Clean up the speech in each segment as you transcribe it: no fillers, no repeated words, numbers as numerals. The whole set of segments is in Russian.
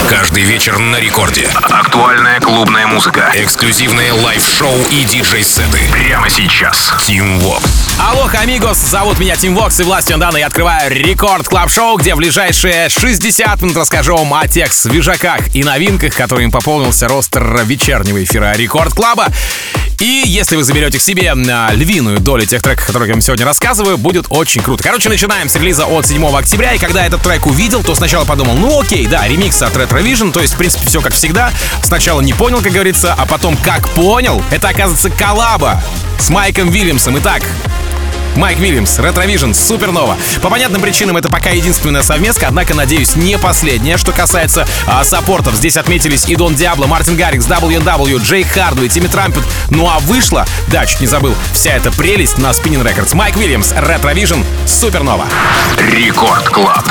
Каждый вечер на рекорде. Актуальная клубная музыка. Эксклюзивные лайв-шоу и диджей-сеты. Прямо сейчас. Team Vox. Алло, амигос, зовут меня Team Vox, и властью данной я открываю Рекорд Клаб Шоу, где в ближайшие 60 минут расскажу вам о тех свежаках и новинках, которыми пополнился ростер вечернего эфира Рекорд Клаба. И если вы заберете к себе львиную долю тех треков, о которых я вам сегодня рассказываю, будет очень круто. Короче, начинаем с релиза от 7 октября, и когда этот трек увидел, то сначала подумал, ну окей, да, ремикс от Retrovision, то есть, в принципе, все как всегда. Сначала не понял, как говорится, а потом как понял, это, оказывается, коллаба с Майком Вильямсом. Итак, Майк Вильямс, Retrovision, Супернова. По понятным причинам это пока единственная совместка, однако, надеюсь, не последняя. Что касается саппортов, здесь отметились и Дон Диабло, Мартин Гаррикс, WNW, Джей Хардуэй, Тимми Трампет. Ну а вышла, да, чуть не забыл, вся эта прелесть на Spinning Records. Майк Вильямс, Retrovision, Супернова. Рекорд Клаб.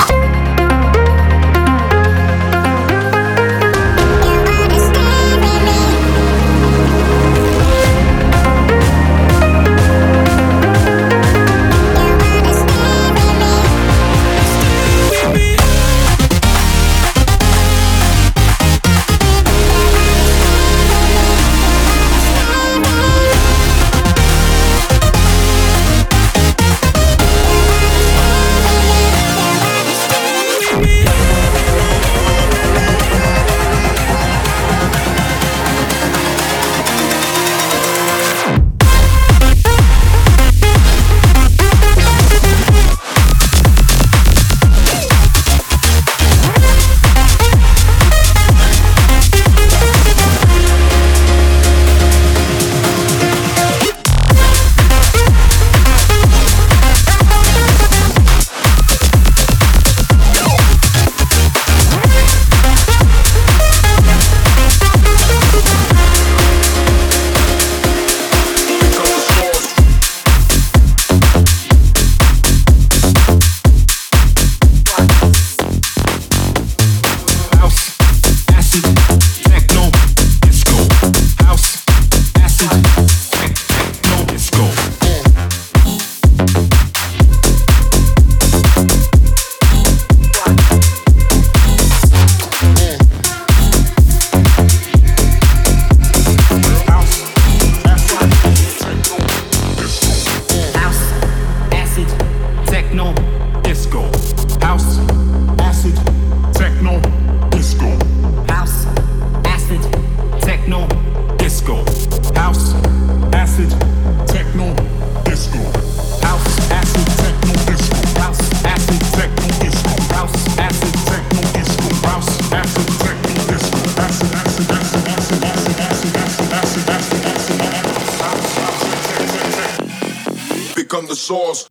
Become the source.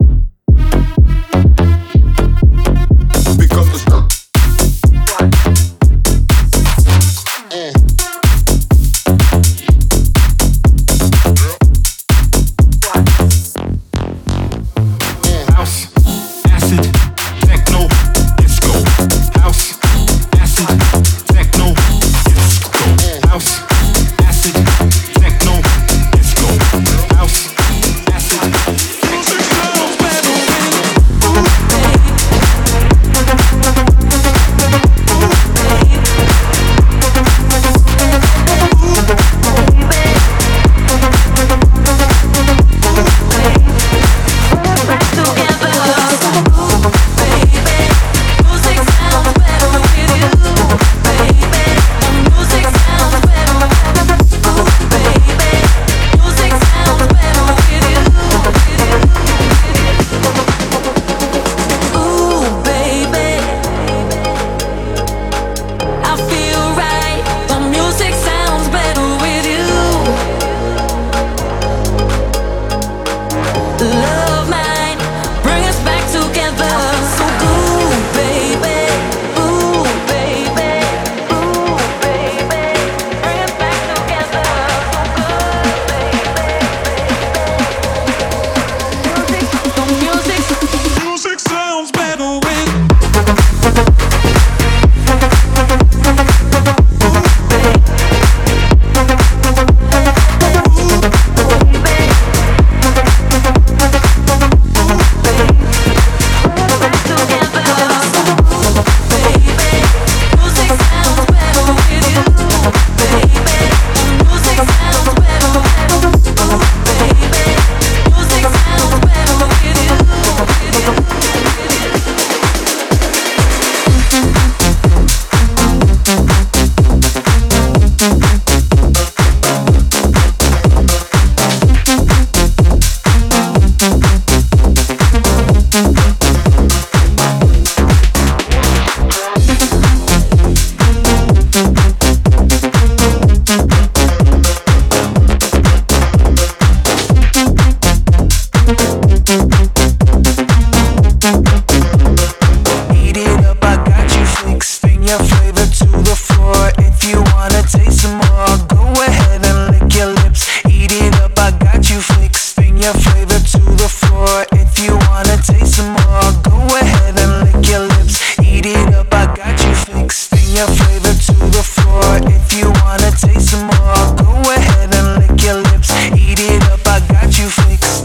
your flavor to the floor. If you wanna taste some more, go ahead and lick your lips. Eat it up, I got you fixed.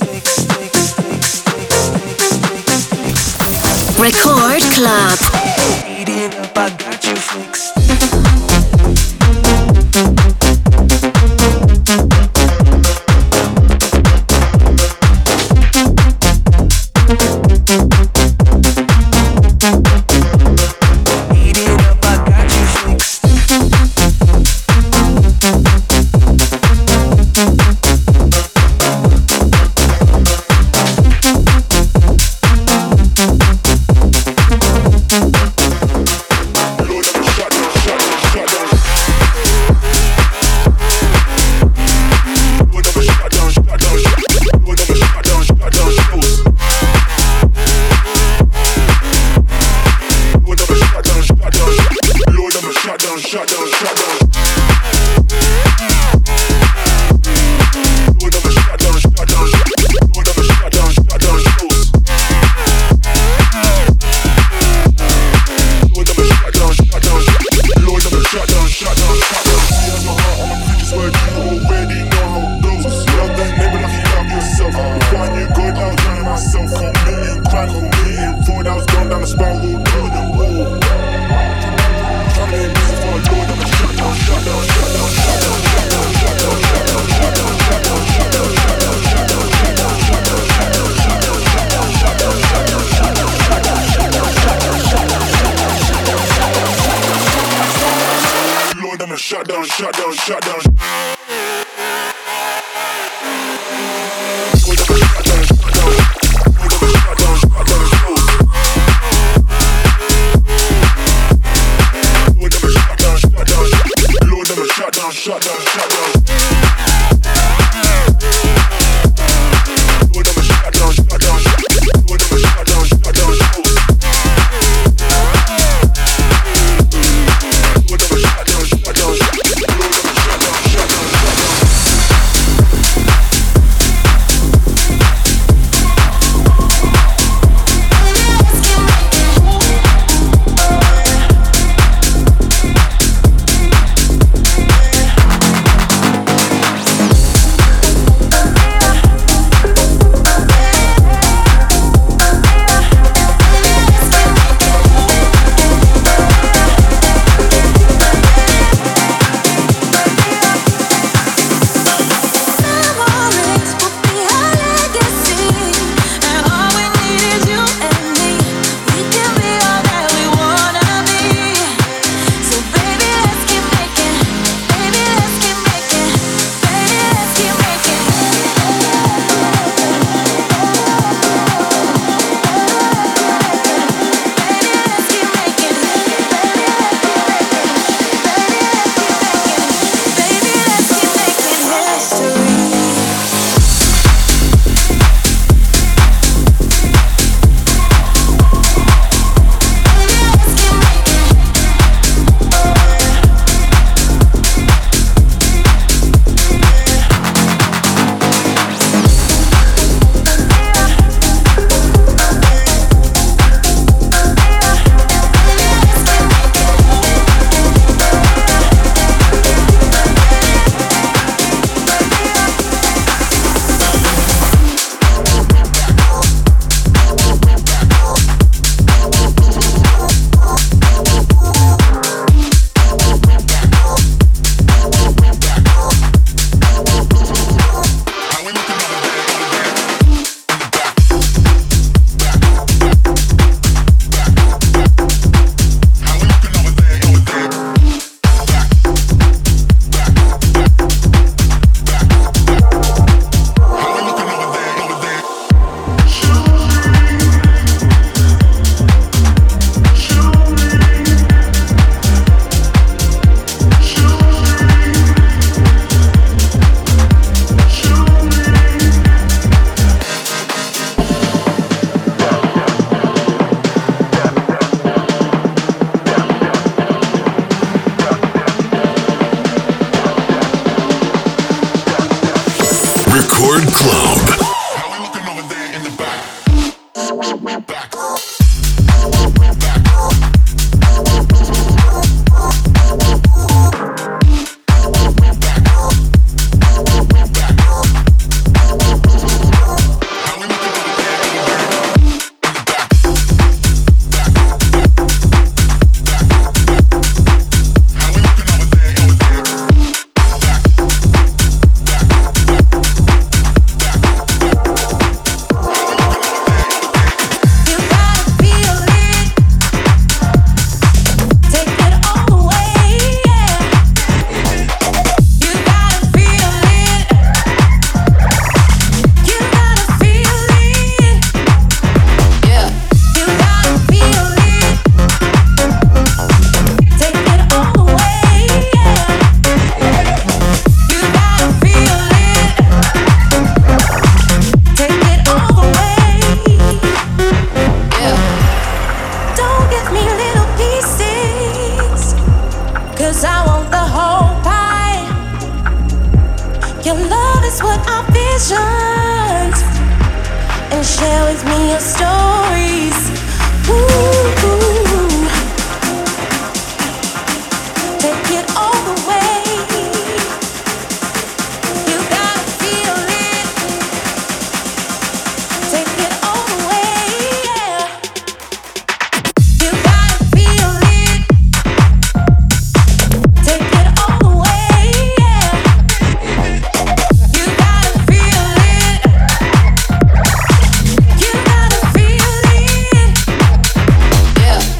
Record Club. Eat it up, I got you fixed. Record Club. 'cause I want the whole pie. Your love is what I visioned, and share with me your stories. Ooh, take it all the way. You gotta feel it. Take it all the way, yeah. You gotta feel it. Take it all the way, yeah. You gotta feel it. You gotta feel it. Yeah.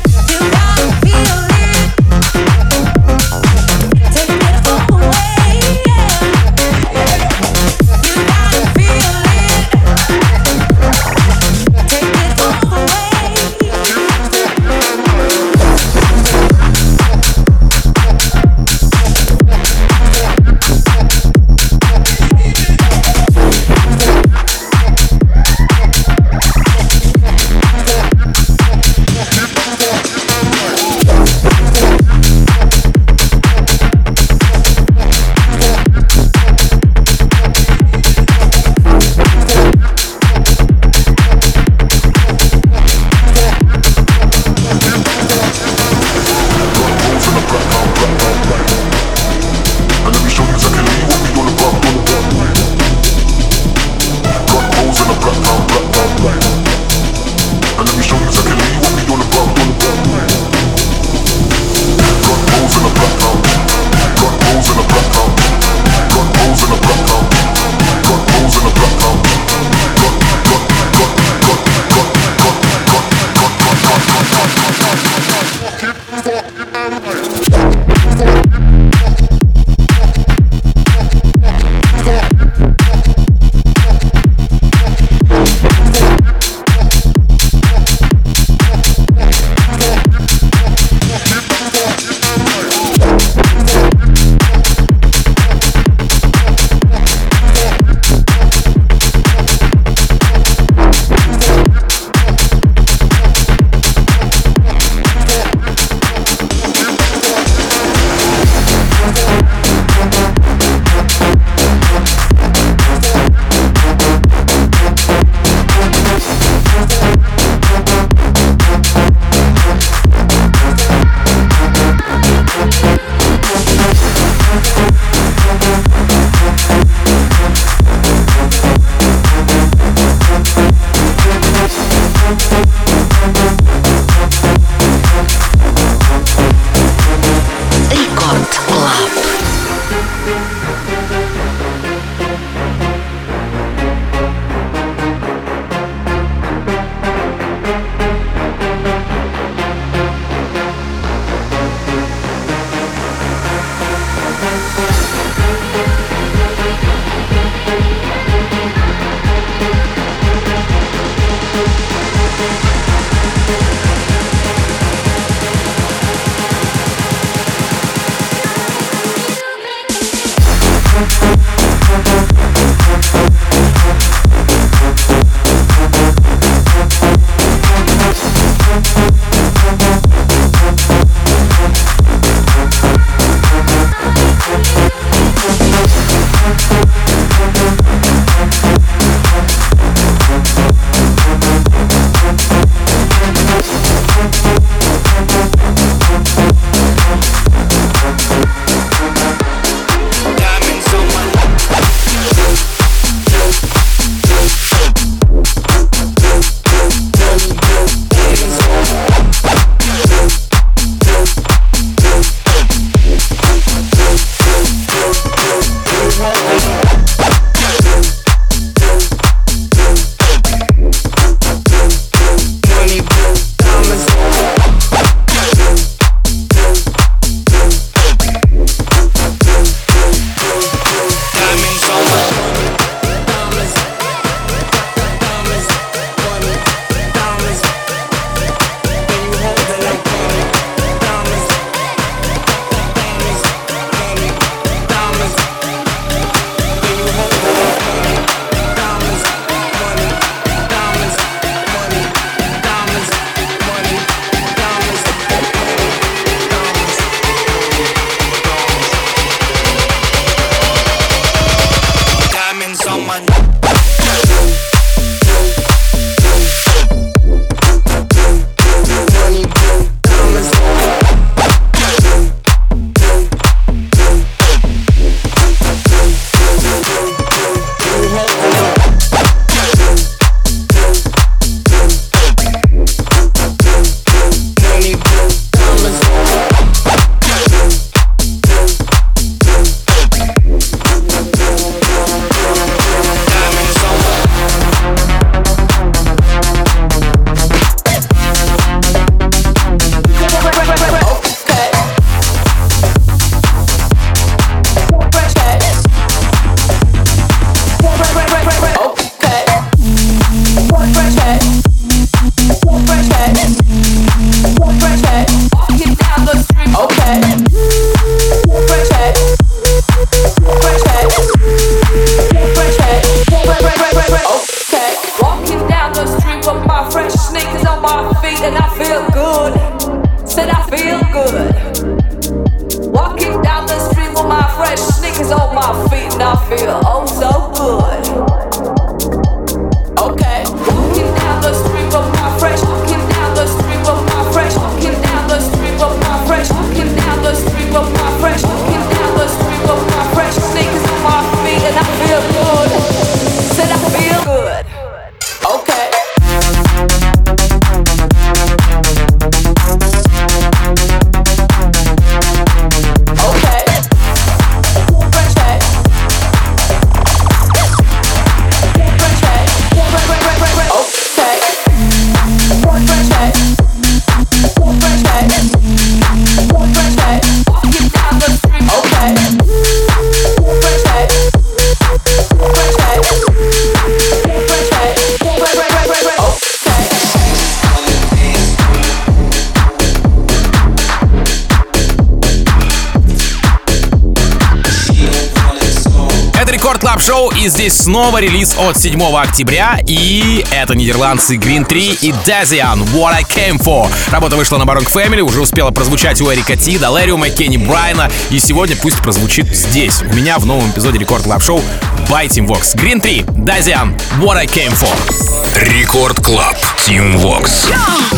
Рекорд Клаб Шоу, и здесь снова релиз от 7 октября, и это нидерландцы Green 3 и Dazian What I Came For. Работа вышла на Baronk Family, уже успела прозвучать у Эрика Ти, Далериума, Кенни Брайна, и сегодня пусть прозвучит здесь, у меня в новом эпизоде Рекорд Клаб Шоу by Team Vox. Green 3, Dazian What I Came For. Рекорд Клаб, Team Vox.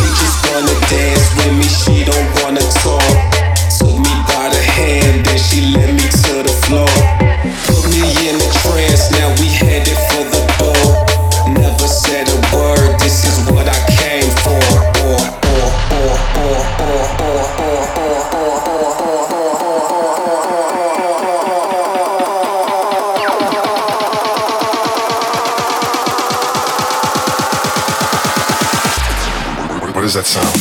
She led me to the floor, put me in a trance. Now we headed for the door. Never said a word. This is what I came for. What does that sound?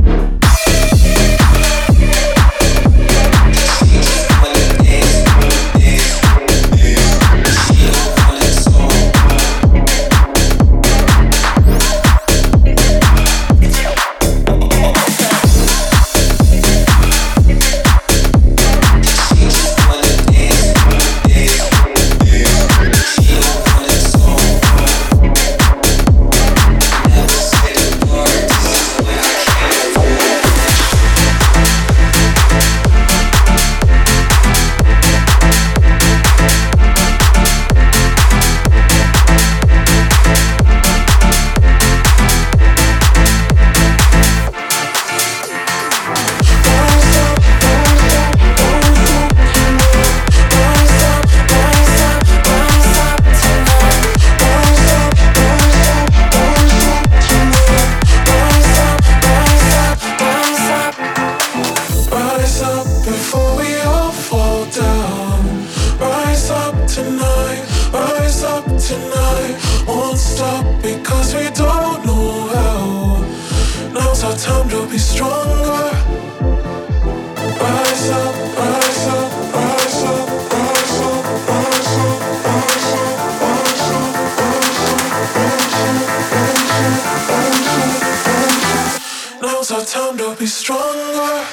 Time to be stronger.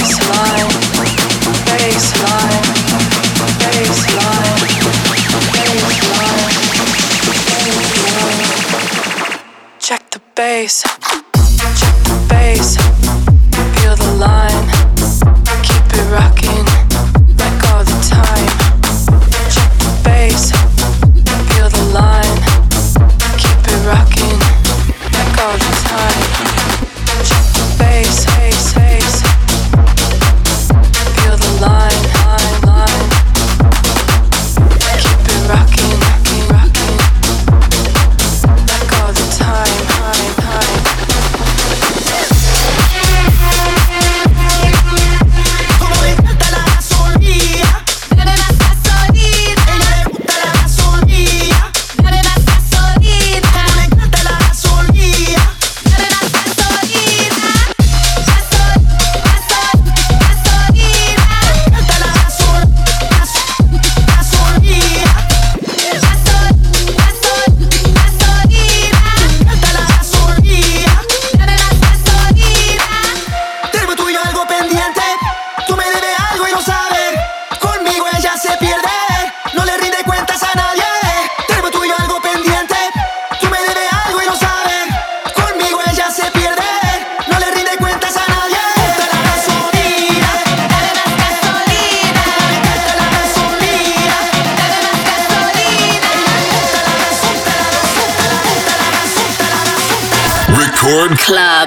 Record Club.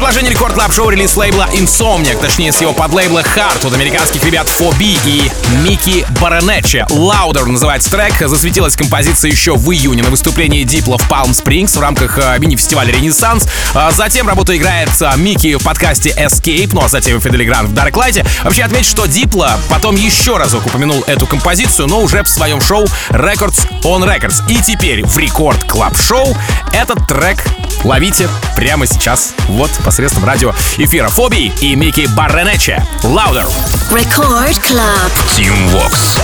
продолжение Рекорд Клаб Шоу релиз лейбла Insomniac, точнее с его подлейбла Heart от американских ребят 4B и Микки Баренеччи. Louder называется трек. Засветилась композиция еще в июне на выступлении Diplo в Palm Springs в рамках мини-фестиваля Ренессанс. Затем работу играет Микки в подкасте Escape, ну а затем Фидели Грант в Darklight. Вообще отмечу, что Diplo потом еще разок упомянул эту композицию, но уже в своем шоу Records on Records. И теперь в Рекорд Клаб Шоу этот трек ловите прямо сейчас, вот, посредством радиоэфира 4B и Микки Баренеччи. Louder. Record Club. Team Vox.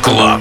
Club.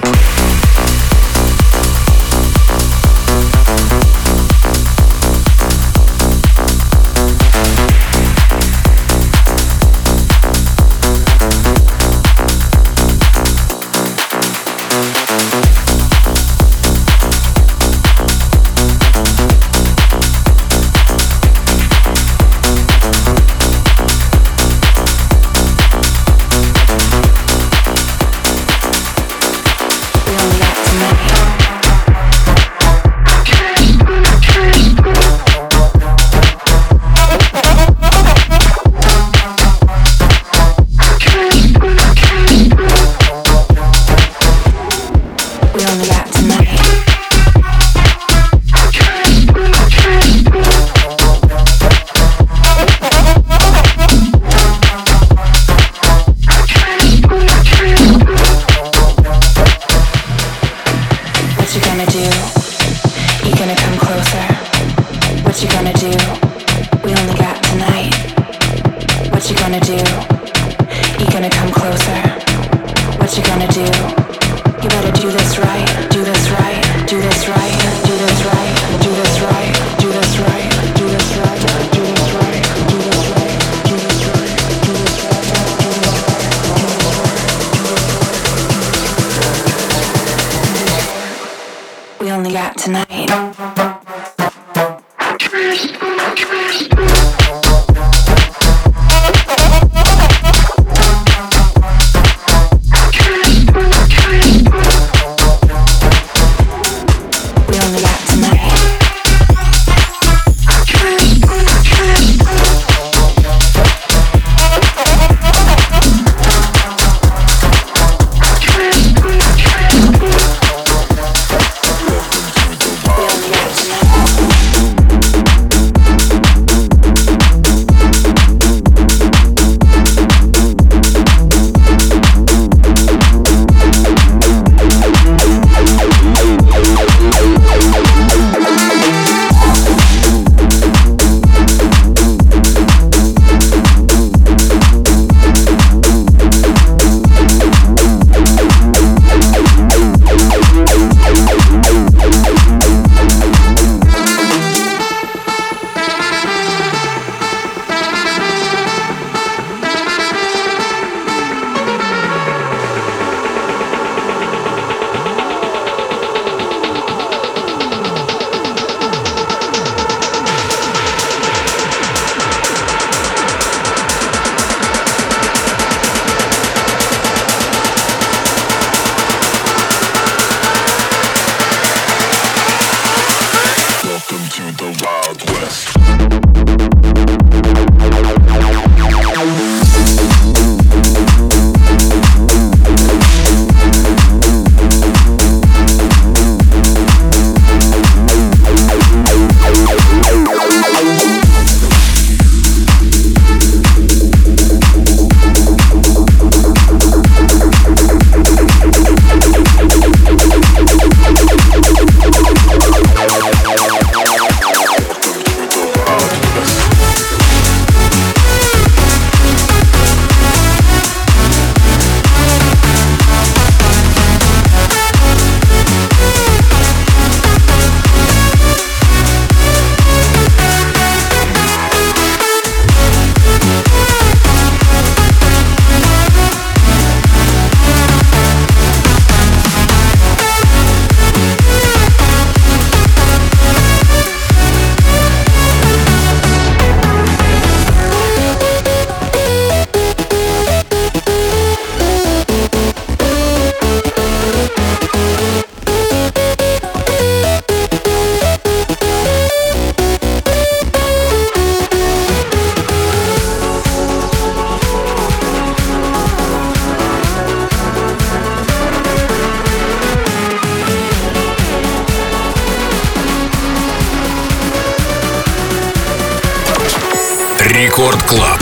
Рекорд Клаб.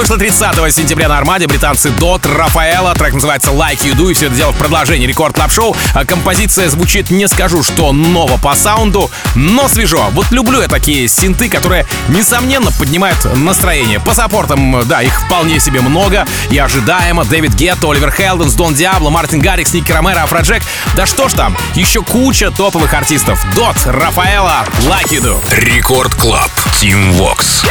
Вышло 30 сентября на Армаде. Британцы Dot, Рафаэла. Трек называется Like You Do. И все это дело в продолжении Рекорд Клаб Шоу. Композиция звучит, не скажу, что ново по саунду, но свежо. Вот люблю я такие синты, которые, несомненно, поднимают настроение. По саппортам, да, их вполне себе много. И ожидаемо. Дэвид Гетто, Оливер Хелденс, Дон Диабло, Мартин Гаррикс, Ники Ромеро, Афроджек. Да что ж там, еще куча топовых артистов. Dot, Рафаэла, Like You Do. Рекорд Клаб, Team Vox.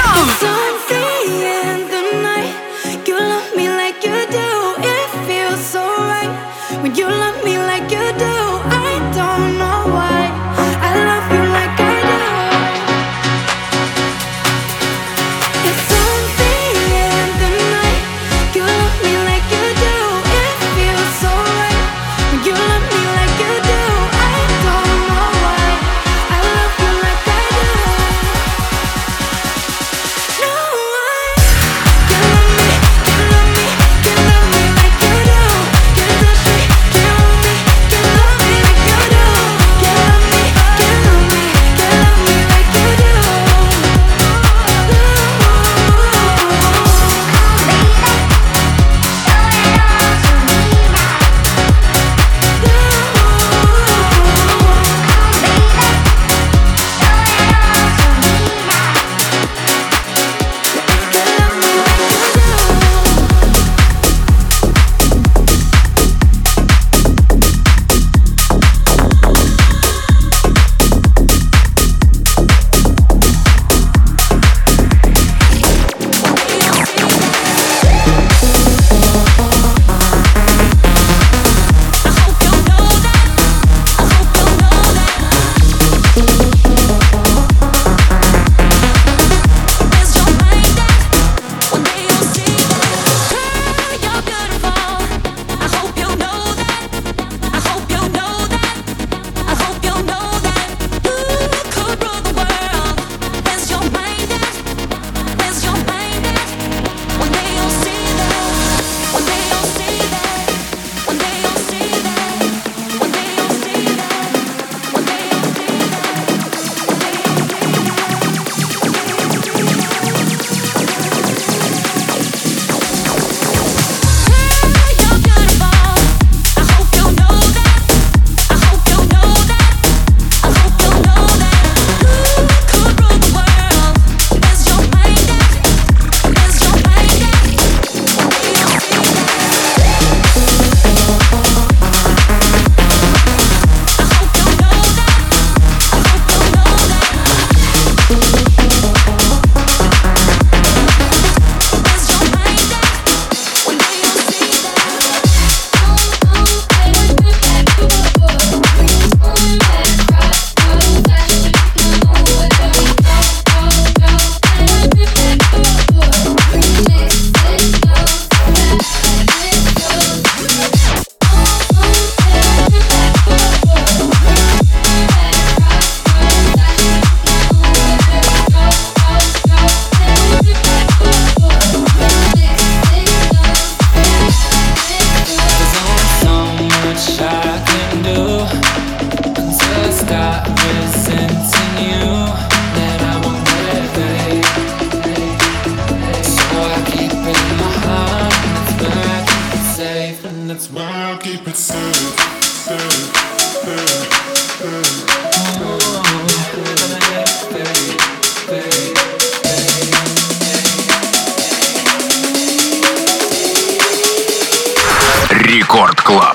Рекорд Клаб.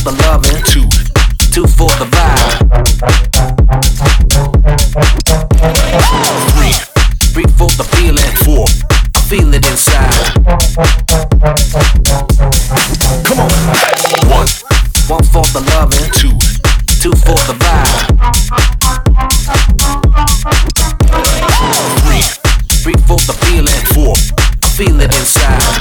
the loving. 2 for the vibe. 3 for the feeling. 4 I feel it inside. Come on. 1 for the loving. 2 for the vibe. 3 for the feeling. 4 I feel it inside.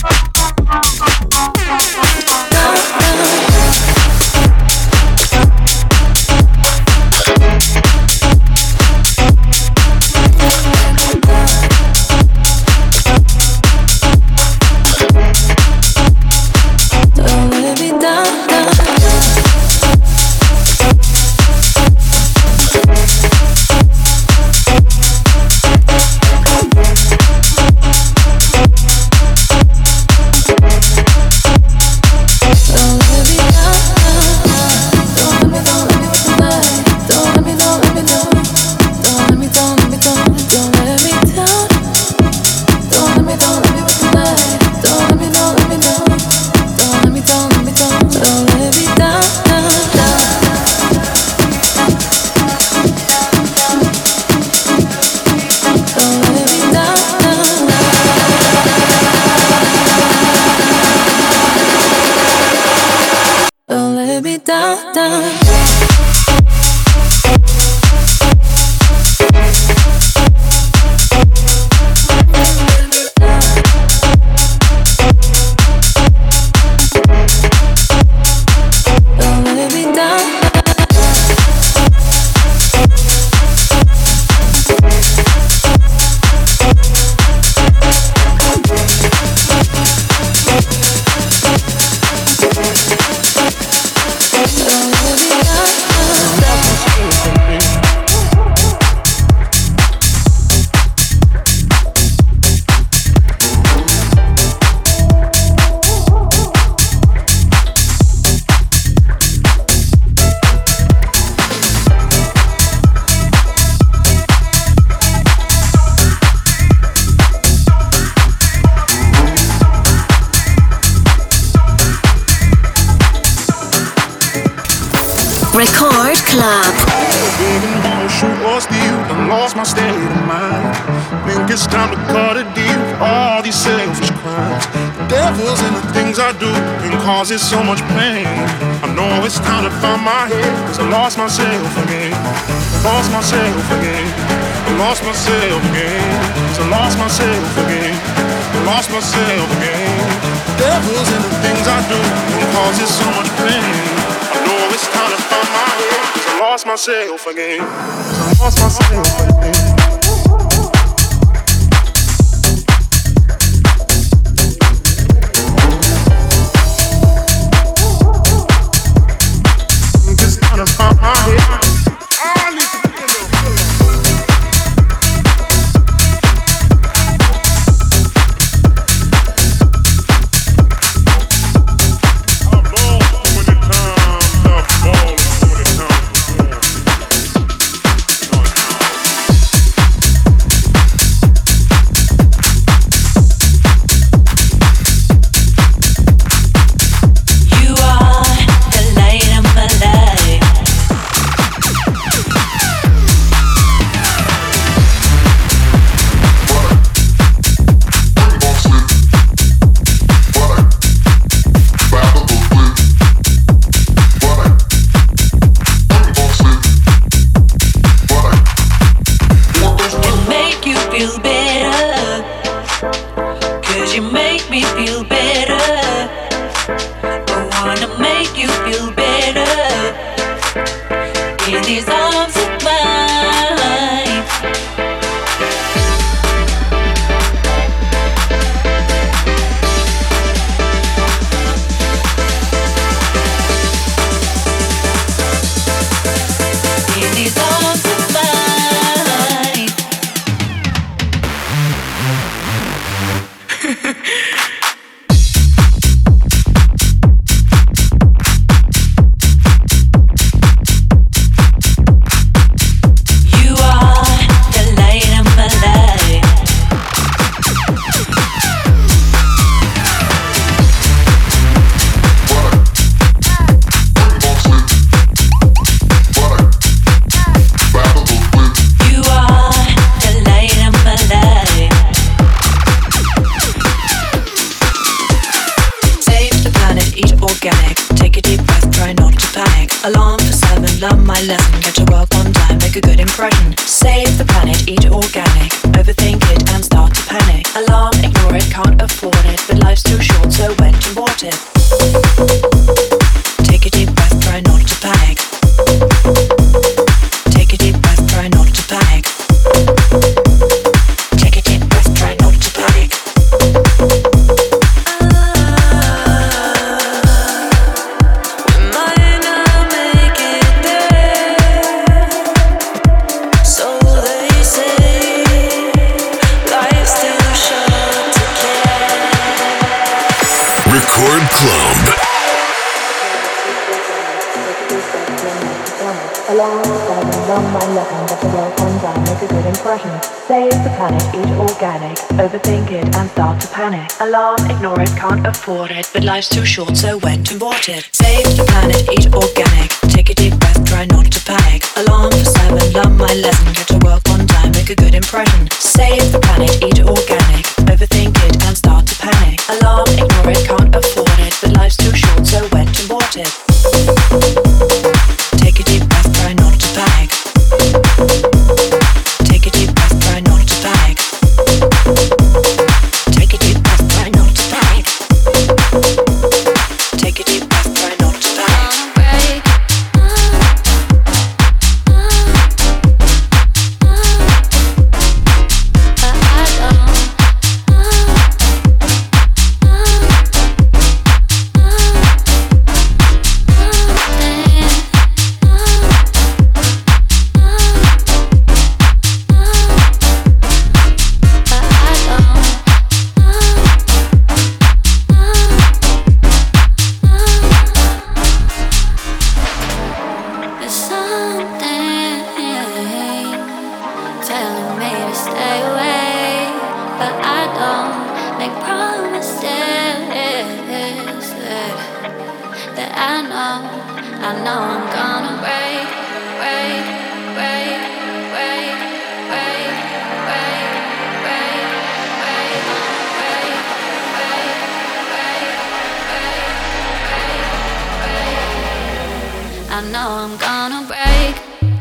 Record Club. Didn't wanna shoot or steal, and lost my state of mind. Think it's time to cut a deal for all these selfish crimes. The devil's in the things I do and causes so much pain. I know it's time to find my head, 'cause I lost myself again. Lost myself again. I lost myself again. 'Cause I lost myself again. I lost myself again. The devil's in the things I do and causes so much pain. I know it's time to find my head, 'cause I lost myself again. 'Cause I lost myself again. Take a deep breath, try not to panic. Alarm for 7, learn my lesson. Get to work on time, make a good impression. Save the planet, eat organic. Overthink it and start to panic. Alarm, ignore it, can't afford it. But life's too short, so went and bought it. Take a deep breath, try not to panic. Take a deep breath, try not to panic. Take a deep breath, try not to panic. Record Club. Learn my lesson, get to work on time, make a good impression. Save the planet, eat organic. Overthink it and start to panic. Alarm, ignore it, can't afford it. But life's too short, so went and bought it. Save the planet, eat organic. Take a deep breath, try not to panic. Alarm for 7, learn my lesson, get to work on time, make a good impression. Save the planet, eat organic. Overthink it and start to panic. Alarm, ignore it, can't afford it. But life's too short, so went and bought it. Take a deep breath, try not to panic. Take a deep breath, try not to panic. Take a deep breath, try not to panic. Take a deep breath, try not to panic. I know I'm gonna break.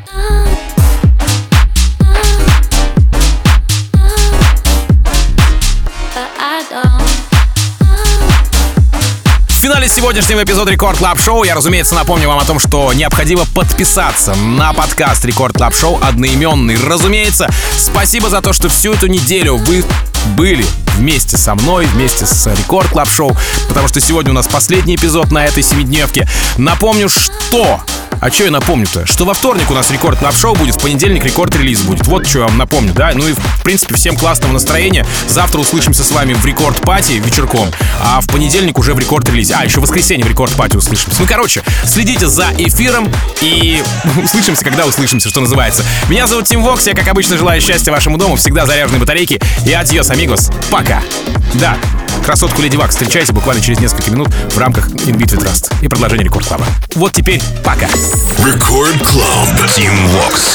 В финале сегодняшнего эпизода Рекорд Клаб Шоу я, разумеется, напомню вам о том, что необходимо подписаться на подкаст Рекорд Клаб Шоу одноименный. Разумеется, спасибо за то, что всю эту неделю вы были вместе со мной, вместе с Рекорд Клаб Шоу, потому что сегодня у нас последний эпизод на этой 7-дневке. Напомню, что... А что я напомню-то? Что во вторник у нас Рекорд Клаб Шоу будет, в понедельник рекорд-релиз будет. Вот что я вам напомню, да? Ну и, в принципе, всем классного настроения. Завтра услышимся с вами в рекорд-пати вечерком, а в понедельник уже в рекорд-релизе. А, еще в воскресенье в рекорд-пати услышимся. Ну, короче, следите за эфиром и услышимся, когда услышимся, что называется. Меня зовут Тим Вокс, я, как обычно, желаю счастья вашему дому, всегда заряженной батарейки. И адьос, амигос. Пока. Да, красотку Леди Баг встречайте буквально через несколько минут в рамках In Beat with Rust и продолжение Рекорд Клаба. Вот теперь пока. Record Club. Team Vox.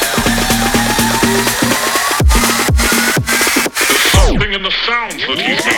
The sounds that you